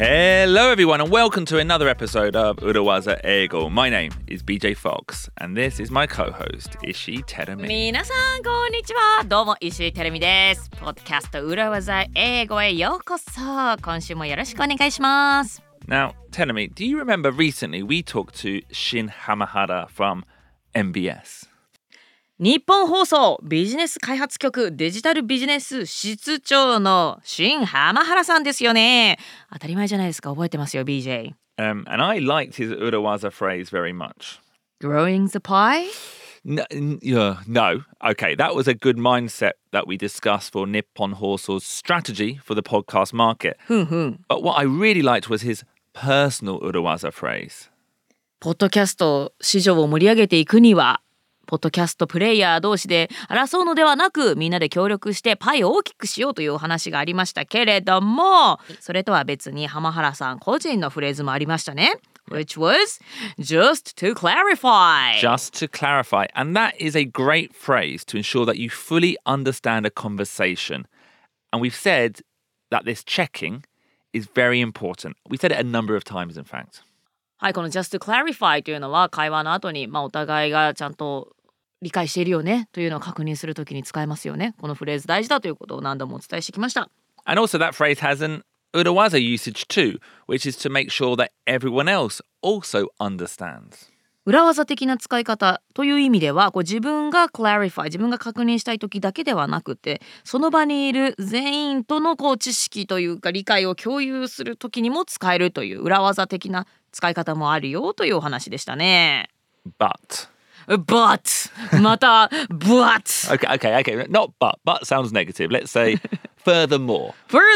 Hello everyone and welcome to another episode of Urawaza Eigo. My name is BJ Fox and this is my co-host Ishii Terumi. 皆さんこんにちは。どうも石井てるみです。ポッドキャスト裏技英語へようこそ。今週もよろしくお願いします。 Now, Terumi, do you remember recently we talked to Shin Hamahara from MBS? 日本放送ビジネス開発局デジタルビジネス室長の新浜原さんですよね。当たり前じゃないですか。覚えてますよ BJ。 And I liked his Urawaza phrase very much. Growing the pie? No. Okay, that was a good mindset that we discussed for Nippon Hoso's strategy for the podcast market. But what I really liked was his personal Urawaza phrase. ポッドキャスト市場を盛り上げていくにはポッドキャストプレイヤー同士で争うのではなくみんなで協力してパイを大きくしようというお話がありましたけれども、それとは別に浜原さん個人のフレーズもありましたね。Which was just to clarify. Just to clarify. And that is a great phrase to ensure that you fully understand a conversation. And we've said that this checking is very important. We said it a number of times, in fact. はい、この just to clarify というのは会話の後に、お互いがちゃんと理解しているよねというのを確認するときに使えますよね。このフレーズ大事だということを何度もお伝えしてきました。 And also that phrase has an Urawaza usage too, which is to make sure that everyone else also understands. 裏技的な使い方という意味では自分が clarify 自分が確認したい時だけではなくてその場にいる全員との知識というか理解を共有する時にも使えるという裏技的な使い方もあるよというお話でしたね。 But また but Okay. Not but sounds negative. Let's say furthermore.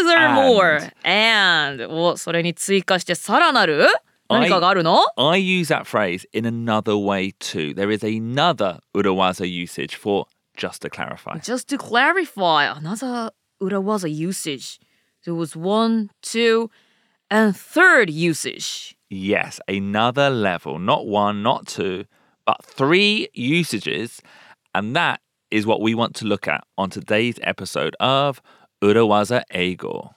and それに追加してさらなる何かがあるの？ I use that phrase in another way too. There is another Urawaza usage for just to clarify. Just to clarify, another Urawaza usage. There was 1, 2, and third usage. Yes, another level. Not 1, not 2, but 3 usages. And that is what we want to look at on today's episode of Urawaza Eigo.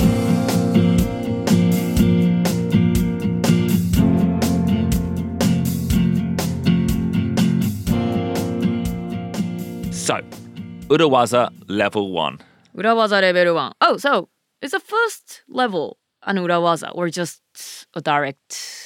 So, Urawaza level 1. 裏技レベル1. Oh, so is the first level an 裏技 or just a direct?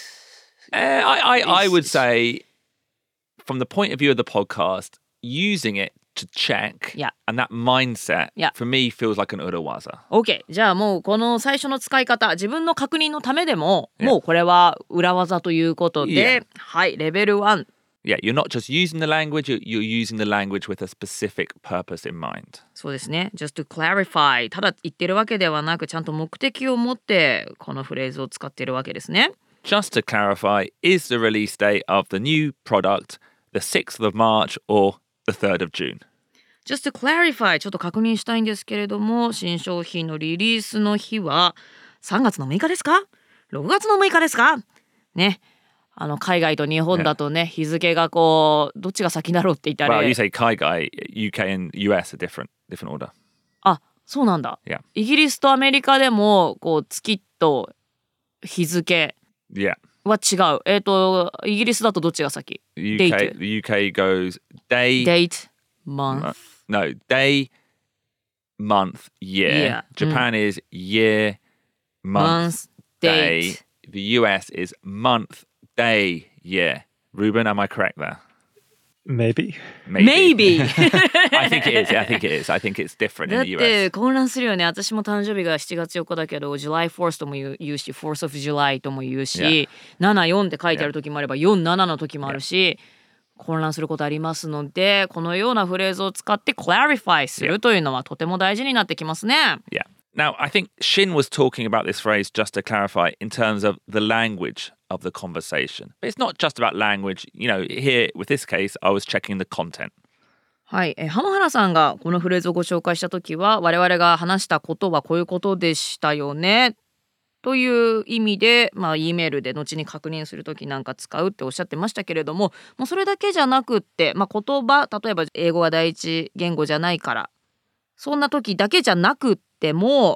I would say, from the point of view of the podcast, using it to check and that mindset for me feels like an Urawaza. OK. じゃあもうこの最初の使い方、自分の確認のためでも、もうこれは裏技ということで、はい、レベル1.Yeah, you're not just using the language, you're using the language with a specific purpose in mind. そうですね。Just to clarify. ただ言ってるわけではなく、ちゃんと目的を持ってこのフレーズを使っているわけですね。 Just to clarify is the release date of the new product, the 6th of March or the 3rd of June. Just to clarify. ちょっと確認したいんですけれども、新商品のリリースの日は3月の6日ですか ?6 月の6日ですかね。海外と日本だとね、日付がどっちが先だろうって言ったら Well, you say 海外 UK and US are different order. あ、そうなんだ。 Yeah. イギリスとアメリカでも月と日付は違う。イギリスだとどっちが先？ The UK goes date, month. No, day, month, year. Japan is year, month, day. The US is month.Day, year. Ruben, am I correct there? Maybe. I think it is. I think it's different in the US. だって混乱するよね。私も誕生日が7月4日だけど July 4th とも言うし 4th of July とも言うし、74って書いてある時もあれば47の時もあるし、混乱することありますので、このようなフレーズを使って clarify するというのはとても大事になってきますね。 Yeah.Now, I think Shin was talking about this phrase, just to clarify, in terms of the language of the conversation. But it's not just about language. You know, here, with this case, I was checking the content. はい、浜原さんがこのフレーズをご紹介したときは、我々が話したことはこういうことでしたよね。という意味で、E メールで後に確認するときなんか使うっておっしゃってましたけれども、もうそれだけじゃなくって、言葉、例えば英語が第一言語じゃないから、そんな時だけじゃなくっても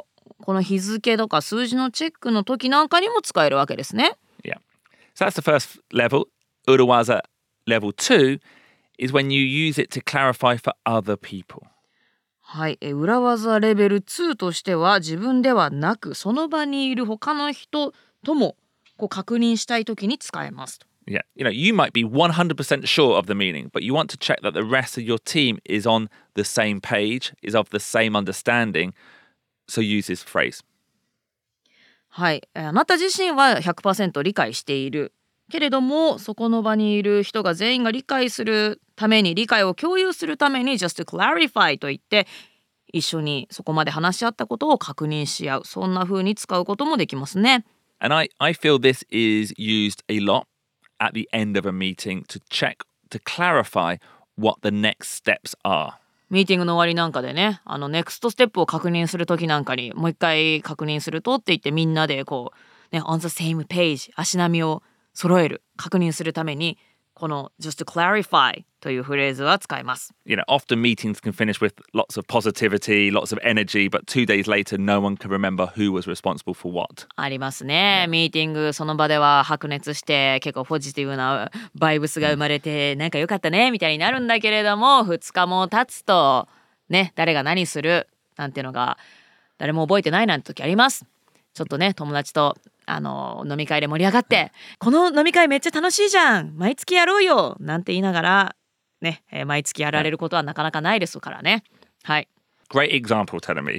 この日付とか数字のチェックの時なんかにも使えるわけですね。 Yeah. So that's the first level. Urawaza level 2 is when you use it to clarify for other people. はい、裏技レベル2としては自分ではなくその場にいる他の人ともこう確認したい時に使えますと。 Yeah, you might be 100% sure of the meaning, but you want to check that the rest of your team is on the same page, is of the same understanding, so use this phrase. はい、あなた自身は 100% 理解しているけれども、そこの場にいる人が全員が理解するために、理解を共有するために just to clarify と言って一緒にそこまで話し合ったことを確認し合う、そんな風に使うこともできますね。 And I feel this is used a lot at the end of a meeting to check, to clarify what the next steps are. ミーティングの終わりなんかでね、ネクストステップを確認する時なんかにもう一回確認するとって言って、みんなでこうね on the same page 足並みを揃える、確認するためにこの just to clarify というフレーズは使います。 Often meetings can finish with lots of positivity, lots of energy, but 2 days later no one can remember who was responsible for what. ありますね。ミーティングその場では白熱して結構ポジティブなバイブスが生まれて、なんか良かったねみたいになるんだけれども、2日も経つとね、誰が何するなんていうのが誰も覚えてないなんて時あります。ちょっとね、友達と飲み会で盛り上がって、この飲み会めっちゃ楽しいじゃん、毎月やろうよなんて言いながらね、毎月やられることはなかなかないですからね。はい。 Great example, Telemi.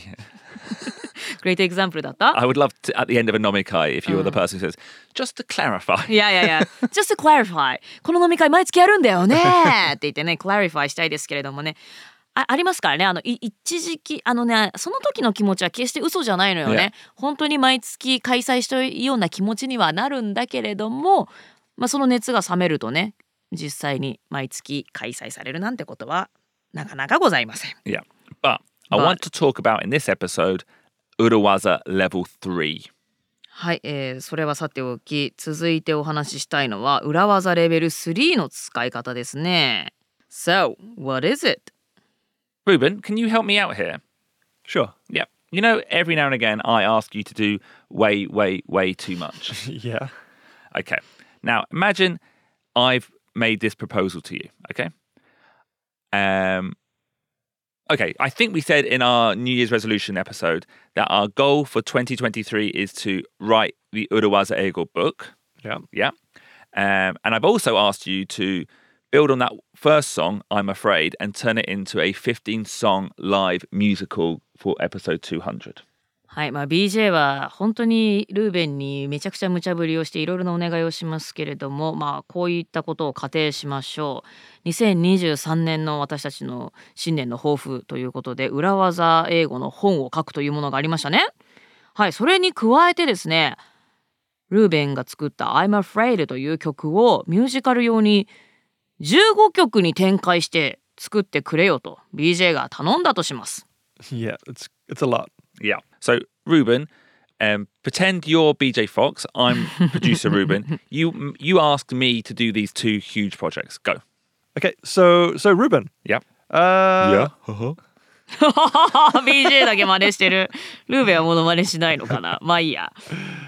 Great example だった。 I would love to, at the end of a nomikai, if you were the person who says, just to clarify. いやjust to clarify この飲み会毎月やるんだよねって言ってね、clarify したいですけれどもね、ありますからね。一時期その時の気持ちは決して嘘じゃないのよね。本当に毎月開催したいような気持ちにはなるんだけれども、その熱が冷めるとね、実際に毎月開催されるなんてことはなかなかございません。 Yeah, but I want to talk about in this episode Urawaza level 3. はい、それはさておき、続いてお話ししたいのは裏技レベル3の使い方ですね。So, what is it? Ruben, can you help me out here? Sure. Yeah. Every now and again I ask you to do way too much. Yeah. Okay. Now, imagine I've made this proposal to you, okay? Okay, I think we said in our New Year's resolution episode that our goal for 2023 is to write the Urawaza Eigo book. Yeah. Yeah. And I've also asked you to build on that first song, I'm Afraid, and turn it into a 15-song live musical for episode 200. はい、BJ は本当にルーベンにめちゃくちゃ無茶ぶりをしていろいろなお願いをしますけれども、こういったことを仮定しましょう。2023年の私たちの新年の抱負ということで、裏技英語の本を書くというものがありましたね。はい、それに加えてですね、ルーベンが作った I'm Afraid という曲をミュージカル用に15曲に展開して作ってくれよと BJ が頼んだとします。 Yeah, it's a lot. Yeah. So, Ruben, pretend you're BJ Fox. I'm producer Ruben. You asked me to do these two huge projects. Go. Okay, so Ruben. Yeah. Yeah. BJ だけ真似してる。ルーベンはモノマネしないのかな。まあいいや。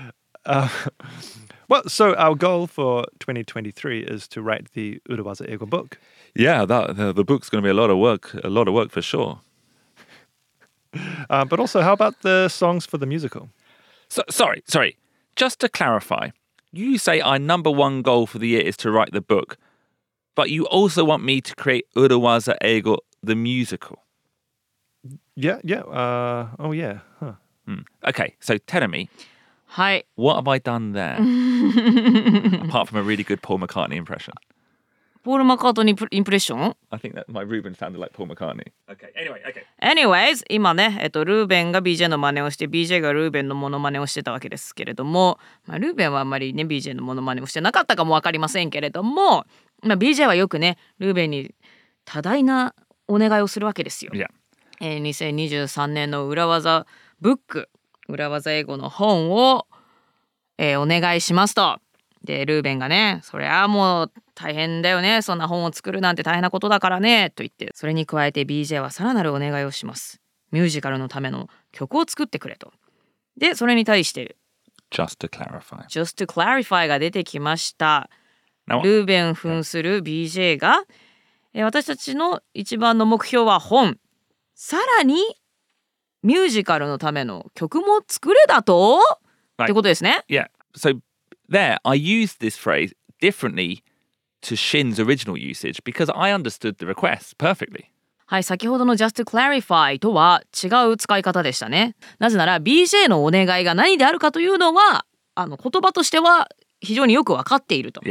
Well, so our goal for 2023 is to write the Urawaza Eigo book. Yeah, the book's going to be a lot of work for sure. But also, how about the songs for the musical? So, sorry. Just to clarify, you say our number one goal for the year is to write the book, but you also want me to create Urawaza Eigo, the musical. Yeah. Oh, yeah. Huh. Okay, so tell me, はい。 what have I done there? Apart from a really good Paul McCartney impression. ポール・マカートニーインプレッション I think that my Ruben sounded like Paul McCartney. Okay, okay. Anyways 今ね、ルーベンが BJ の真似をして BJ がルーベンのモノマネをしてたわけですけれども、ルーベンはあんまりね BJ のモノマネをしてなかったかも分かりませんけれども、BJ はよくねルーベンに多大なお願いをするわけですよ。 Yeah. 2023年の裏技ブック、裏技英語の本を、お願いしますと。でルーベンがね、そりゃもう大変だよね、そんな本を作るなんて大変なことだからねと言って、それに加えて BJ はさらなるお願いをします。ミュージカルのための曲を作ってくれと。 で、それに対して Just to clarify. Just to clarify が出てきました。 Now, ルーベン扮する BJ が、私たちの一番の目標は本、さらにミュージカルのための曲も作れだと、ってことですね。 yeah. So there, I used this phrase differently to Shin's original usage because I understood the request perfectly. はい、先ほどの just to clarify とは違う使い方でしたね。なぜなら BJ のお願いが何であるかというのは言葉としては非常によく分かっていると。 Yeah.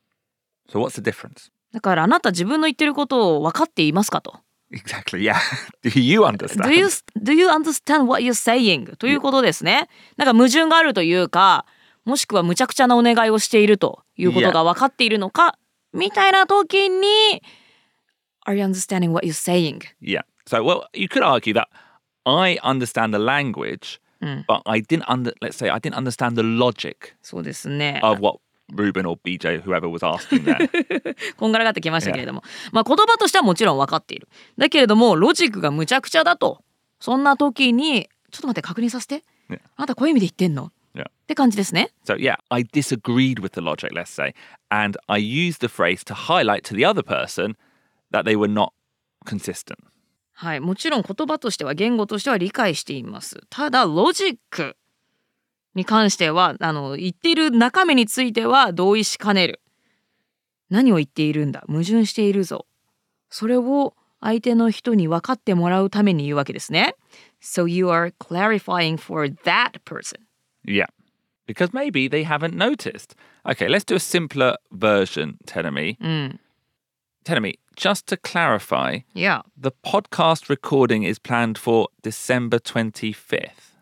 So what's the difference? だからあなた自分の言ってることを分かっていますかと。 Exactly, yeah. Do you understand? Do you understand what you're saying? ということですね。なんか矛盾があるというか、もしくは無茶苦茶なお願いをしているということが分かっているのか、みたいな時にAre you understanding what you're saying? Yeah. So, well, you could argue that I understand the language, but let's say I didn't understand the logic そうですね。 of what Ruben or BJ, whoever was asking there. こんがらがってきましたけれども、まあ言葉としてはもちろん分かっている。だけれどもロジックがむちゃくちゃだと。そんな時にちょっと待って確認させて。 Yeah. あなたこういう意味で言ってんの？ Yeah. って感じですね。 So, yeah, I disagreed with the logic, let's say, and I used the phrase to highlight to the other person that they were not consistent. はい、もちろん言葉としては言語としては理解しています。ただロジックに関しては言っている中身については同意しかねる。何を言っているんだ、矛盾しているぞ。それを相手の人に分かってもらうために言うわけですね。So you are clarifying for that person. Yeah. Because maybe they haven't noticed. Okay, let's do a simpler version, Tenemi. Tenemi, just to clarify, Yeah. the podcast recording is planned for December 25th.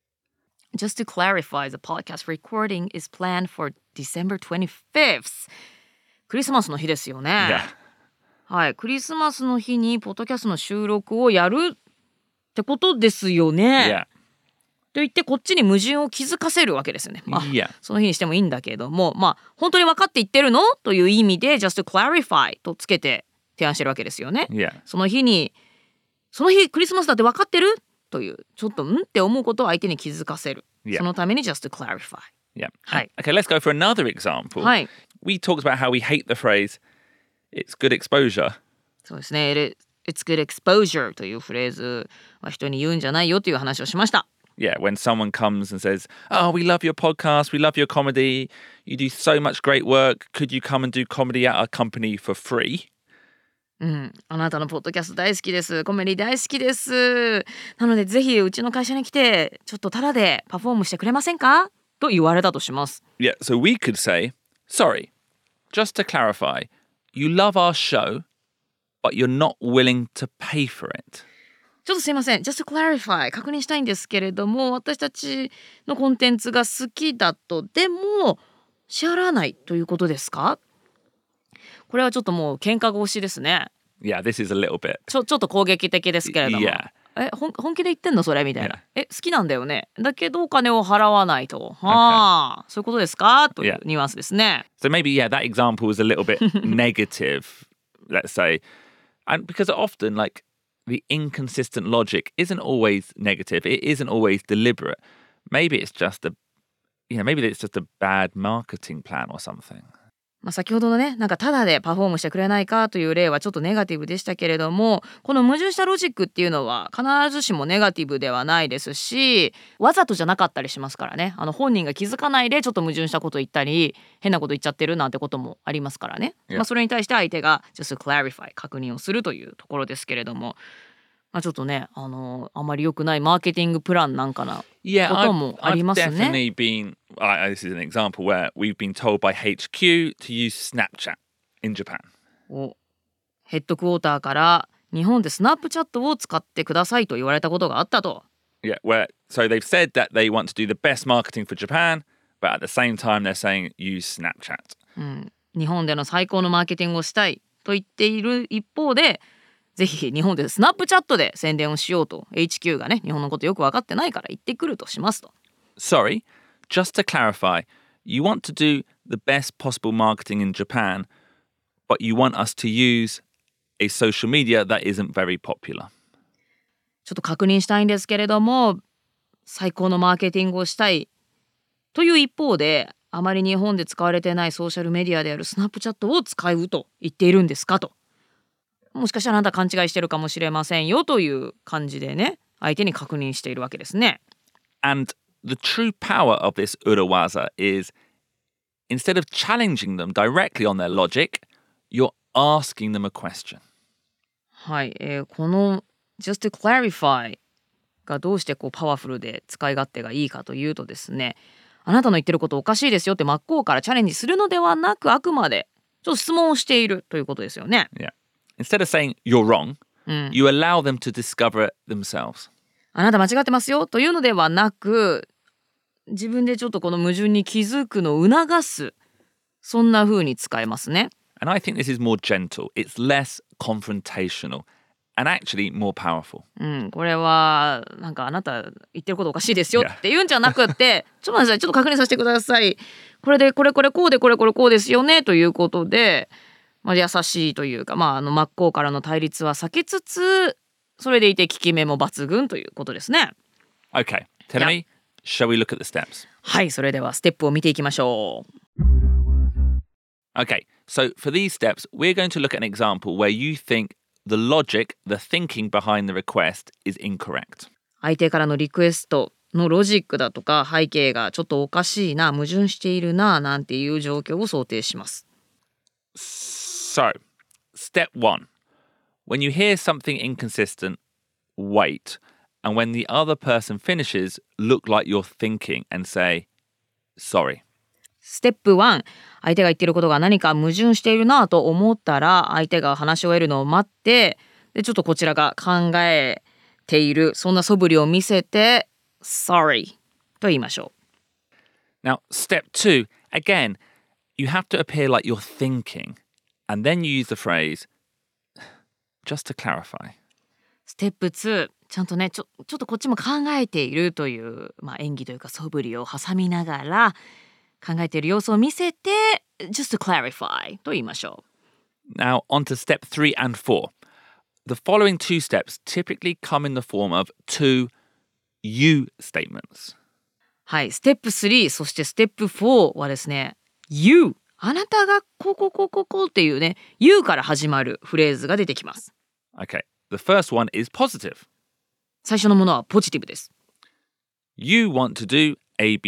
Just to clarify, the podcast recording is planned for December 25th. クリスマスの日ですよね。 Yeah. はい、クリスマスの日にポッドキャストの収録をやるってことですよね。 Yeah. と言ってこっちに矛盾を気づかせるわけですよね。まあ、 Yeah. その日にしてもいいんだけども、まあ本当に分かって言ってるのという意味で just to clarify とつけて提案してるわけですよね。 Yeah. その日クリスマスだって分かってるというちょっとって思うことを相手に気づかせる。 Yeah. そのために just to clarify。 Yeah. Hi. Okay, let's go for another example. Hi. We talked about how we hate the phrase, it's good exposure. そうですね。It's good exposure というフレーズは人に言うんじゃないよという話をしました。 Yeah, when someone comes and says, oh, we love your podcast, we love your comedy, you do so much great work, could you come and do comedy at our company for free? あなたのポッドキャスト大好きです。コメディ大好きです。なのでぜひうちの会社に来てちょっとタダでパフォームしてくれませんかと言われたとします。 Yeah, so we could say, sorry, just to clarify, you love our show, but you're not willing to pay for it. ちょっとすいません。just to clarify 確認したいんですけれども、私たちのコンテンツが好きだとでも支払わないということですか？これはちょっともう喧嘩腰ですね。 Yeah, this is a little bit. ちょっと攻撃的ですけれども。 Yeah. 本気で言ってんのそれみたいな。 Yeah. 好きなんだよね。だけどお金を払わないと。はあ、そういうことですかというニュアンスですね。 So maybe, yeah, that example was a little bit negative, let's say. And because often, like, the inconsistent logic isn't always negative. It isn't always deliberate. Maybe it's just a bad marketing plan or something. まあ先ほどのね、なんかタダでパフォームしてくれないかという例はちょっとネガティブでしたけれども、この矛盾したロジックっていうのは必ずしもネガティブではないですし、わざとじゃなかったりしますからね。本人が気づかないでちょっと矛盾したこと言ったり、変なこと言っちゃってるなんてこともありますからね。 Yeah. まあそれに対して相手が just clarify 確認をするというところですけれども、まあちょっとね、あまり良くないマーケティングプランなんかな Yeah, こともありますね。 I've definitely been. This is an example where we've been told by HQ to use Snapchat in Japan. ヘッドクォーターから日本でスナップチャットを使ってくださいと言われたことがあったと。 Yeah, so they've said that they want to do the best marketing for Japan, but at the same time they're saying use Snapchat. 日本での最高のマーケティングをしたいと言っている一方で、ぜひ日本でスナップチャットで宣伝をしようと HQ がね、日本のことよく分かってないから言ってくるとしますと。 Sorry, just to clarify, you want to do the best possible marketing in Japan, but you want us to use a social media that isn't very popular. ちょっと確認したいんですけれども、 最高のマーケティングをしたいという一方で、あまり日本で使われてないソーシャルメディアであるスナップチャットを使うと言っているんですかと。もしかしたらあなた勘違いしてるかもしれませんよという感じでね、相手に確認しているわけですね。 And the true power of this urawaza is instead of challenging them directly on their logic, you're asking them a question. はい、この just to clarify がどうしてこうパワフルで使い勝手がいいかというとですね、あなたの言ってることおかしいですよって真っ向からチャレンジするのではなく、あくまでちょっと質問をしているということですよね。 Yeah. Instead of saying you're wrong, you allow them to discover it themselves. あなた間違ってますよというのではなく、自分でちょっとこの矛盾に気づくのを促す、そんな風に使えますね。 And I think this is more gentle. It's less confrontational and actually more powerful. これはなんかあなた言ってることおかしいですよって言うんじゃなくってちょっと待ってください、ちょっと確認させてください。これでこれこれこうでこれこれこうですよねということで、優しいというか、真っ向からの対立は避けつつ、それでいて効き目も抜群ということですね。 Okay, Terumi, shall we look at the steps? はい、それではステップを見ていきましょう。 Okay, so for these steps, we're going to look at an example where you think the logic, the thinking behind the request is incorrect. 相手からのリクエストのロジックだとか背景がちょっとおかしいな、矛盾しているななんていう状況を想定します。 So, step 1. When you hear something inconsistent, wait. And when the other person finishes, look like you're thinking and say, sorry. ステップ1、相手が言っていることが何か矛盾しているなと思ったら、相手が話し終えるのを待って、でちょっとこちらが考えている、そんな素振りを見せて sorry と言いましょう。Now, step 2, again, you have to appear like you're thinking, and then you use the phrase, just to clarify. ステップ2、ちゃんとね、ちょっとこっちも考えているという、演技というか素振りを挟みながら、考えている様子を見せて just to clarify と言いましょう。Now on to step 3 and 4. The following two steps typically come in the form of two you statements. はい、ステップ3、そしてステップ4はですね、you、あなたがこうっていうね、you から始まるフレーズが出てきます。 Okay, the first one is positive. 最初のものはポジティブです。 You want to do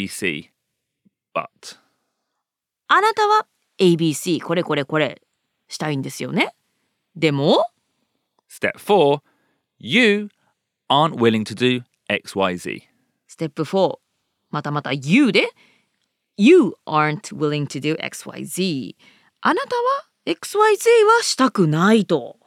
ABC.But. あなたは ABC これしたいんですよね。でも Step 4 You aren't willing to do XYZ. ステップ4また You で You aren't willing to do XYZ あなたは XYZ はしたくないと。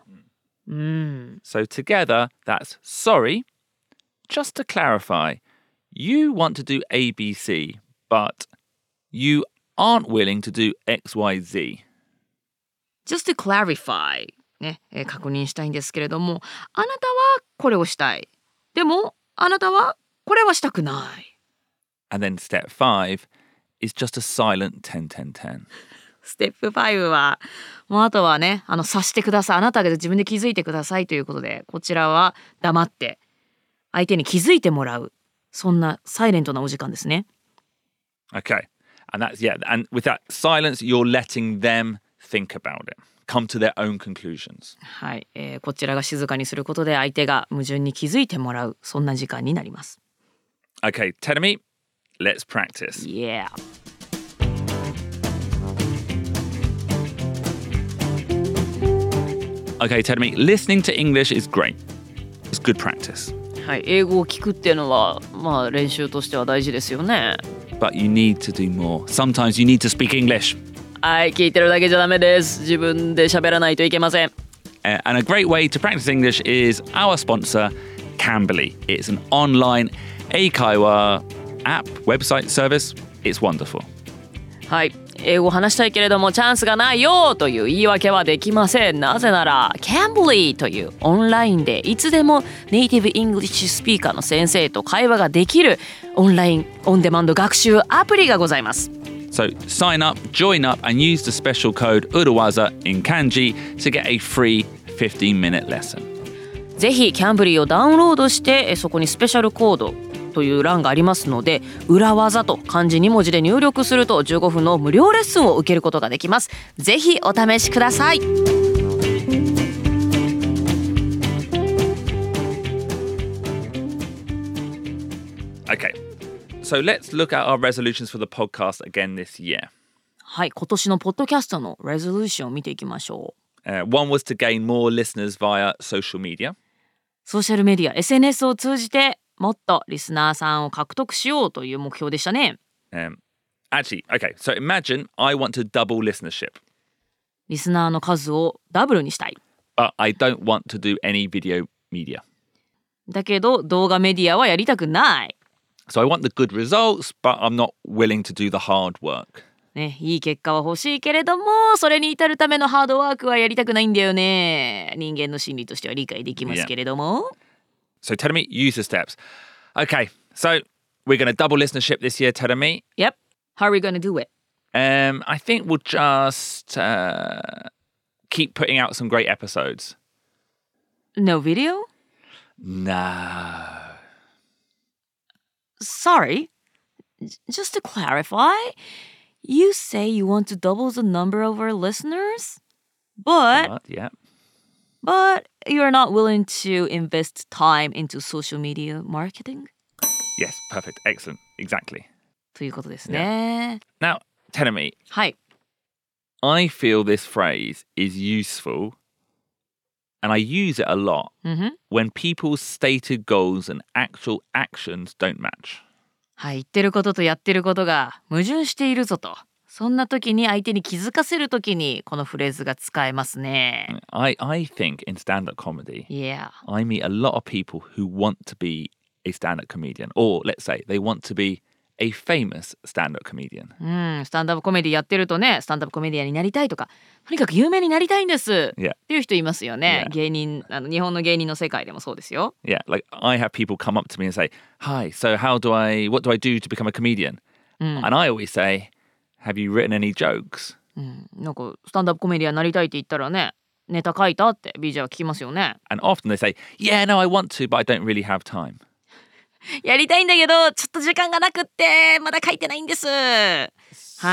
So together that's sorry. Just to clarify, you want to do ABC, but You aren't willing to do XYZ. Just to clarify ね、確認したいんですけれども、あなたはこれをしたい。でもあなたはこれはしたくない。 And then step 5 is just a silent 10-10-10. ステップ5はもうあとはね、察してください。あなたが自分で気づいてくださいということで、こちらは黙って相手に気づいてもらう。そんなサイレントなお時間ですね。 Okay.And that's, and with that silence, you're letting them think about it, come to their own conclusions. はい、こちらが静かにすることで相手が矛盾に気づいてもらう、そんな時間になります。 Okay, Terumi, let's practice. Yeah. Okay, Terumi, listening to English is great. It's good practice. はい、英語を聞くっていうのは、練習としては大事ですよね。 But you need to do more. Sometimes you need to speak English. はい、聞いてるだけじゃダメです。自分で喋らないといけません。 And a great way to practice English is our sponsor, Cambly. It's an online Eikaiwa app, website service. It's wonderful. はい、英語を話したいけれどもチャンスがないよという言い訳はできません。なぜなら Cambly というオンラインでいつでもネイティブイングリッシュスピーカーの先生と会話ができるオンラインオンデマンド学習アプリがございます。 So sign up, join up and use the special code Urawaza in Kanji to get a free 15-minute lesson. ぜひ Cambly をダウンロードしてそこにスペシャルコードとという欄がありますので、裏技と漢字2文字で入力すると15分の無料レッスンを受けることができます。ぜひお試しください。 Okay, so let's look at our resolutions for the podcast again this year. はい、今年のポッドキャストのレゾリューションを見ていきましょう。 One was to gain more listeners via social media. ソーシャルメディア SNS を通じてもっとリスナーさんを獲得しようという目標でしたね。 Actually, okay, so imagine I want to double listenership. リスナーの数をダブルにしたい。 But I don't want to do any video media. だけど動画メディアはやりたくない。 So I want the good results, but I'm not willing to do the hard work. ね、いい結果は欲しいけれども、それに至るためのハードワークはやりたくないんだよね。人間の心理としては理解できますけれども。 So Terumi, use the steps. Okay, so we're going to double listenership this year, Terumi. Yep. How are we going to do it? I think we'll just keep putting out some great episodes. No video? No. Sorry. Just to clarify, you say you want to double the number of our listeners, but you're not willing to invest time into social media marketing? Yes, perfect. Excellent. Exactly. ということですね。 Now, Terumi, はい。 I feel this phrase is useful and I use it a lot when people's stated goals and actual actions don't match. はい、言ってることとやってることが矛盾しているぞと。そんな時に相手に気づかせる時にこのフレーズが使えますね。 I think in stand-up comedy, Yeah. I meet a lot of people who want to be a stand-up comedian, or let's say they want to be a famous stand-up comedian. スタンダップコメディやってるとね、スタンダップコメディアンになりたいとか、とにかく有名になりたいんです、 Yeah. っていう人いますよね。 Yeah. 芸人、日本の芸人の世界でもそうですよ。 Yeah, like I have people come up to me and say, "Hi, so what do I do to become a comedian?" And I always say, "Have you written any jokes?" なんかスタンダップコメディアンになりたいって言ったらね、ネタ書いたって BJ は聞きますよね。 And often they say, "Yeah, no, I want to, but I don't really have time." やりたいんだけどちょっと時間がなくってまだ書いてないんです。はい。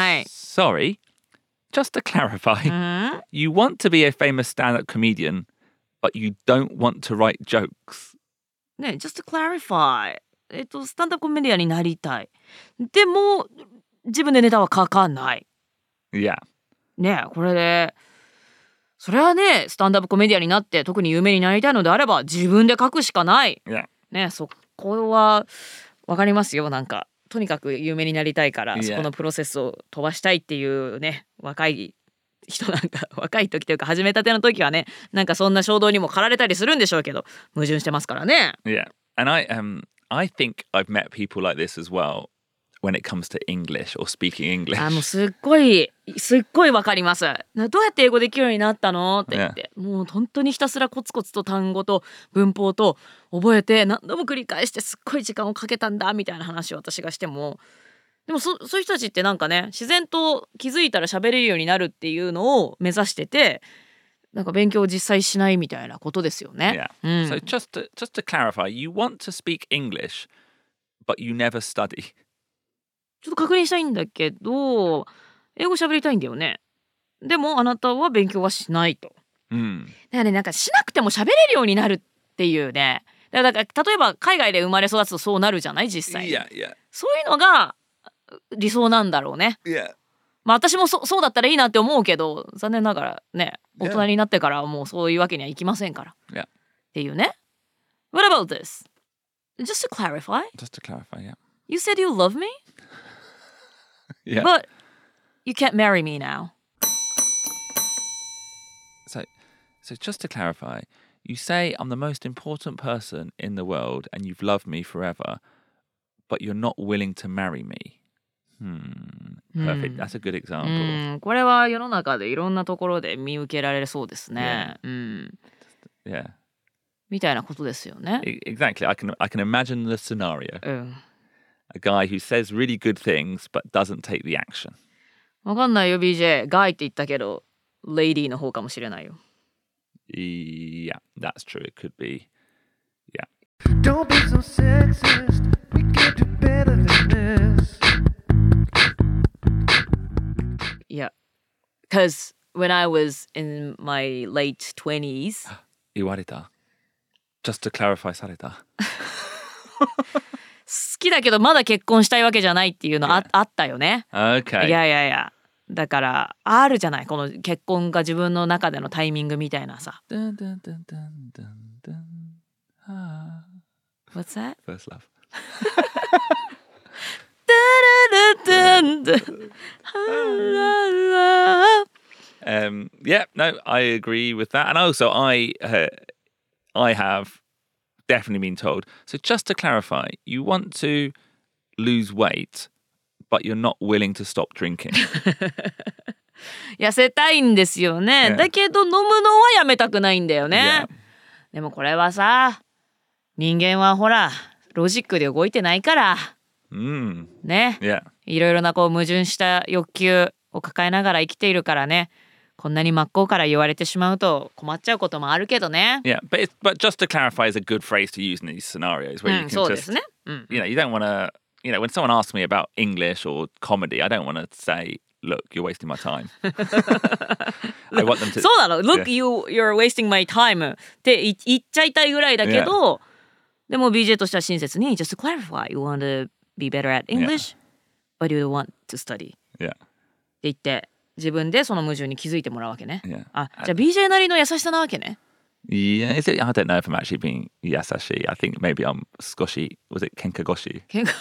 Sorry, just to clarify, you want to be a famous stand-up comedian, but you don't want to write jokes. ね、just to clarify. スタンダップコメディアンになりたい。でも自分でネタは書かない。 Yeah. ね、これでそれはね、スタンダップコメディアンになって特に有名になりたいのであれば自分で書くしかない。 Yeah. ね、そこはわかりますよ。なんかとにかく有名になりたいから、そこのプロセスを飛ばしたいっていうね、若い人なんか若い時というか始めたての時はね、なんかそんな衝動にも駆られたりするんでしょうけど、矛盾してますからね。 Yeah. And I think I've met people like this as well when it comes to English or speaking English. もうすっごいわかります。どうやって英語できるようになったのって言って、もう本当にひたすらコツコツと単語と文法と覚えて何度も繰り返してすっごい時間をかけたんだみたいな話を私がしても、でもそういう人たちってなんかね、自然と気づいたら喋れるようになるっていうのを目指してて、なんか勉強を実際しないみたいなことですよね。 Yeah. So just to clarify, you want to speak English, but you never study. ちょっと確認したいんだけど、英語喋りたいんだよね。でもあなたは勉強はしないと。だからね、なんかしなくても喋れるようになるっていうね。だから例えば海外で生まれ育つとそうなるじゃない、実際。 Yeah, yeah. そういうのが理想なんだろうね。 Yeah. まあ私もそうだったらいいなって思うけど、残念ながらね、大人になってからはもうそういうわけにはいきませんから。 Yeah. っていうね。What about this? Just to clarify. Just to clarify, yeah. You said you love me? Yeah. But you can't marry me now. So just to clarify, you say I'm the most important person in the world and you've loved me forever, but you're not willing to marry me. Perfect. That's a good example. これは世の中でいろんなところで見受けられそうですね。 Yeah. みたいなことですよね。 Exactly. I can imagine the scenario. A guy who says really good things but doesn't take the action. わかんないよ BJ。ガイって言ったけど、レイディーの方かもしれないよ。 Yeah, that's true. It could be. Yeah. Don't be so sexist. We can do better than this. Yeah, because when I was in my late 20s 言われた Just to clarify された好きだけどまだ結婚したいわけじゃないっていうの Yeah. あったよね。 Okay. いやだからあるじゃない、この結婚が自分の中でのタイミングみたいなさ。 Dun, dun, dun, dun, dun, dun. Ah. What's that? First love. Yeah, no, I agree with that. And also, I have definitely been told. So just to clarify, you want to lose weight, but you're not willing to stop drinking. 痩せたいんですよね。 Yeah. だけど飲むのはやめたくないんだよね。 Yeah. でもこれはさ、人間はほらロジックで動いてないからね。 Yeah. いろいろなこう矛盾した欲求を抱えながら生きているからね。こんなに真っ向から言われてしまうと困っちゃうこともあるけどね。 Yeah, but just to clarify, is a good phrase to use in these scenarios where you can そうで just, すね。 you know, you don't want to, you know, when someone asks me about English or comedy, I don't want to say, look, you're wasting my time. I want them to. そうなの。Look, Yeah. you're wasting my time って言っちゃいたいぐらいだけど、でも BJ としては親切に Just to clarify, you want to be better at English, but you want to study って Yeah. 言って自分でその矛盾に気づいてもらうわけね。 Yeah. あ、じゃあ BJ なりの優しさなわけね。 Yeah, is it? I don't know if I'm actually being yasashi. I think maybe I'm skoshi. Was it kenkagoshi? 喧嘩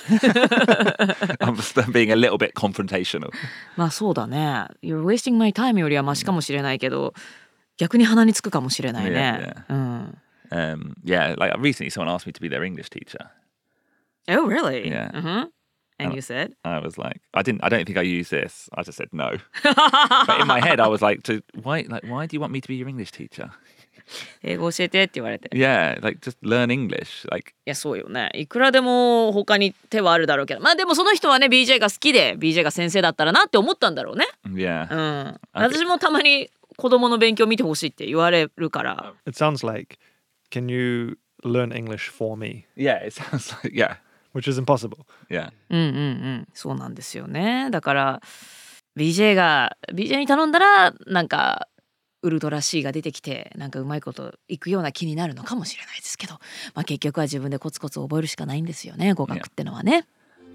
I'm being a little bit confrontational. まあそうだね。You're wasting my time よりはマシかもしれないけど、逆に鼻につくかもしれないね。 Yeah, like recently someone asked me to be their English teacher. Oh, really? Yeah. And you said? I was like, I don't think I use this. I just said no. But in my head, I was like, why do you want me to be your English teacher? 英語教えてって言われて。 Yeah, like just learn English. Like, いやそうよね。いくらでも他に手はあるだろうけど、まあでもその人はね BJ が好きで BJ が先生だったらなって思ったんだろうね。 yeah. 私もたまに子供の勉強見てほしいって言われるから。 It sounds like, can you learn English for me? Yeah, it sounds like, yeah. Which is impossible. Yeah. そうなんですよね。だから BJ に頼んだらなんかウルトラ C が出てきてなんかうまいこといくような気になるのかもしれないですけど、まあ結局は自分でコツコツ覚えるしかないんですよね、語学ってのはね。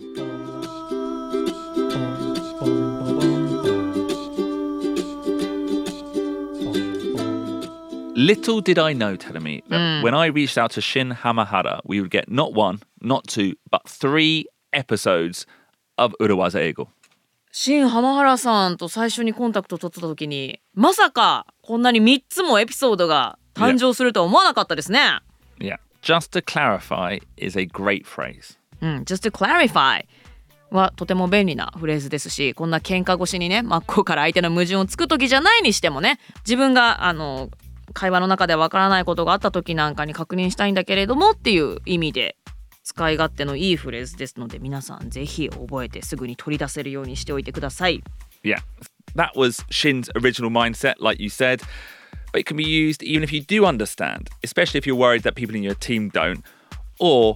Little did I know, Telemi, that when I reached out to Shin Hamahara, we would get not one, not two, but 3 episodes of Urawaza Eigo. 新浜原さんと最初にコンタクト取った時にまさかこんなに3つもエピソードが誕生するとは思わなかったですね。 Yeah. Just to clarify is a great phrase. Just to clarify はとても便利なフレーズですし、こんな喧嘩越しにね真っ向から相手の矛盾をつく時じゃないにしてもね、自分が会話の中でわからないことがあった時なんかに確認したいんだけれどもっていう意味で使い勝手のいいフレーズですので、皆さんぜひ覚えてすぐに取り出せるようにしておいてください。 Yeah. That was Shin's original mindset, like you said. But it can be used even if you do understand, especially if you're worried that people in your team don't. Or,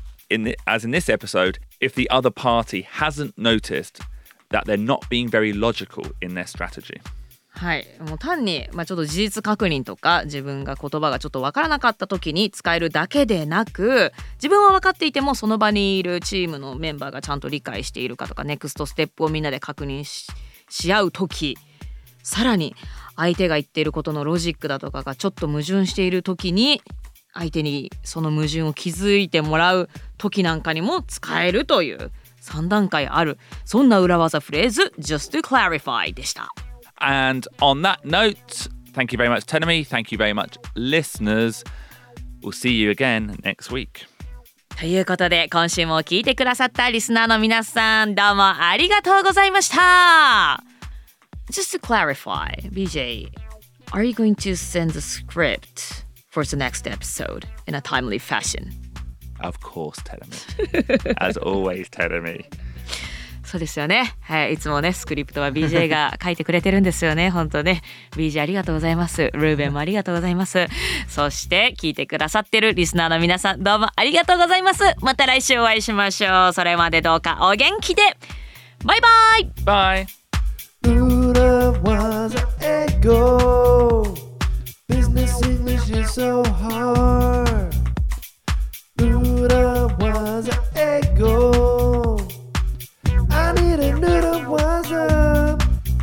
as in this episode, if the other party hasn't noticed that they're not being very logical in their strategy. はい、もう単に、ちょっと事実確認とか自分が言葉がちょっと分からなかった時に使えるだけでなく、自分は分かっていてもその場にいるチームのメンバーがちゃんと理解しているかとか、ネクストステップをみんなで確認 し合う時、さらに相手が言っていることのロジックだとかがちょっと矛盾している時に相手にその矛盾を気づいてもらう時なんかにも使えるという3段階ある、そんな裏技フレーズ Just to clarify でした。 And on that note, thank you very much, Tenemi. Thank you very much, listeners. We'll see you again next week. ということで今週も聞いてくださったリスナーの皆さん、どうもありがとうございました。Just to clarify, BJ, are you going to send the script for the next episode in a timely fashion? Of course, Tenemi. As always, Tenemi. そうですよね。はい、いつもねスクリプトは BJ が書いてくれてるんですよね。本当ね BJ ありがとうございます。ルーベンもありがとうございます。そして聞いてくださってるリスナーの皆さんどうもありがとうございます。また来週お会いしましょう。それまでどうかお元気で。バイバイ。 Bye. Urawaza Echo. Business English is so hard. Urawaza Echo. I need an Urawaza.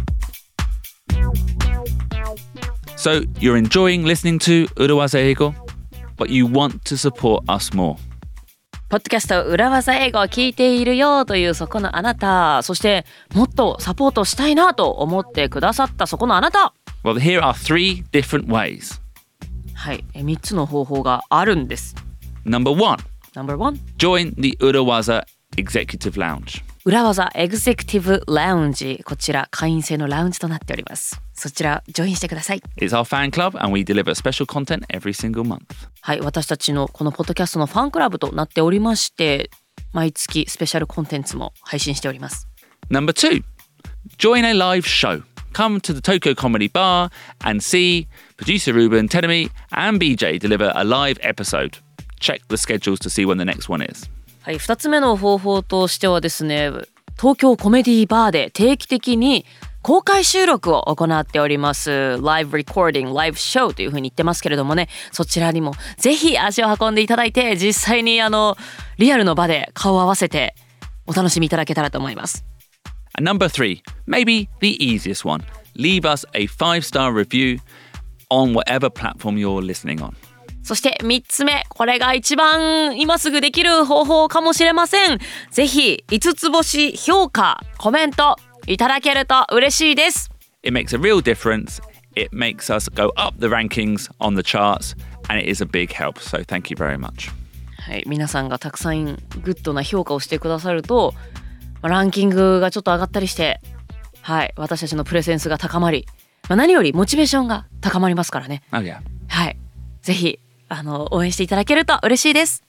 So you're enjoying listening to Urawaza Eigo, but you want to support us more. ポッドキャスト裏技英語を聞いているよというそこのあなた、そしてもっとサポートしたいなと思ってくださったそこのあなた。 Well, here are 3 different ways. はい、3つの方法があるんです。 Number 1, No.1 join the Urawaza Executive Lounge. 裏技エグゼクティブラウンジ、こちら会員制のラウンジとなっております。そちらジョインしてください。 It's our fan club and we deliver special content every single month. はい、私たちのこのポッドキャストのファンクラブとなっておりまして、毎月スペシャルコンテンツも配信しております。 Number 2, join a live show. Come to the Tokyo Comedy Bar and see producer Ruben, Tenemi and BJ deliver a live episode. Check the schedules to see when the next one is. はい、2つ目の方法としてはですね、東京コメディバーで定期的に公開収録を行っております。ライブレコーディング、ライブショーというふうに言ってますけれどもね、そちらにもぜひ足を運んでいただいて、実際にリアルの場で顔を合わせてお楽しみいただけたらと思います。 And number 3, maybe the easiest one. Leave us a 5-star review on whatever platform you're listening on. そして3つ目、これが一番今すぐできる方法かもしれません。ぜひ5つ星評価、コメントいただけると嬉しいです。 It makes a real difference. It makes us go up the rankings on the charts and it is a big help. So thank you very much. はい、皆さんがたくさんグッドな評価をしてくださると、ランキングがちょっと上がったりして、はい、私たちのプレゼンスが高まり、何よりモチベーションが高まりますからね。 Oh yeah. はい、ぜひ応援していただけると嬉しいです。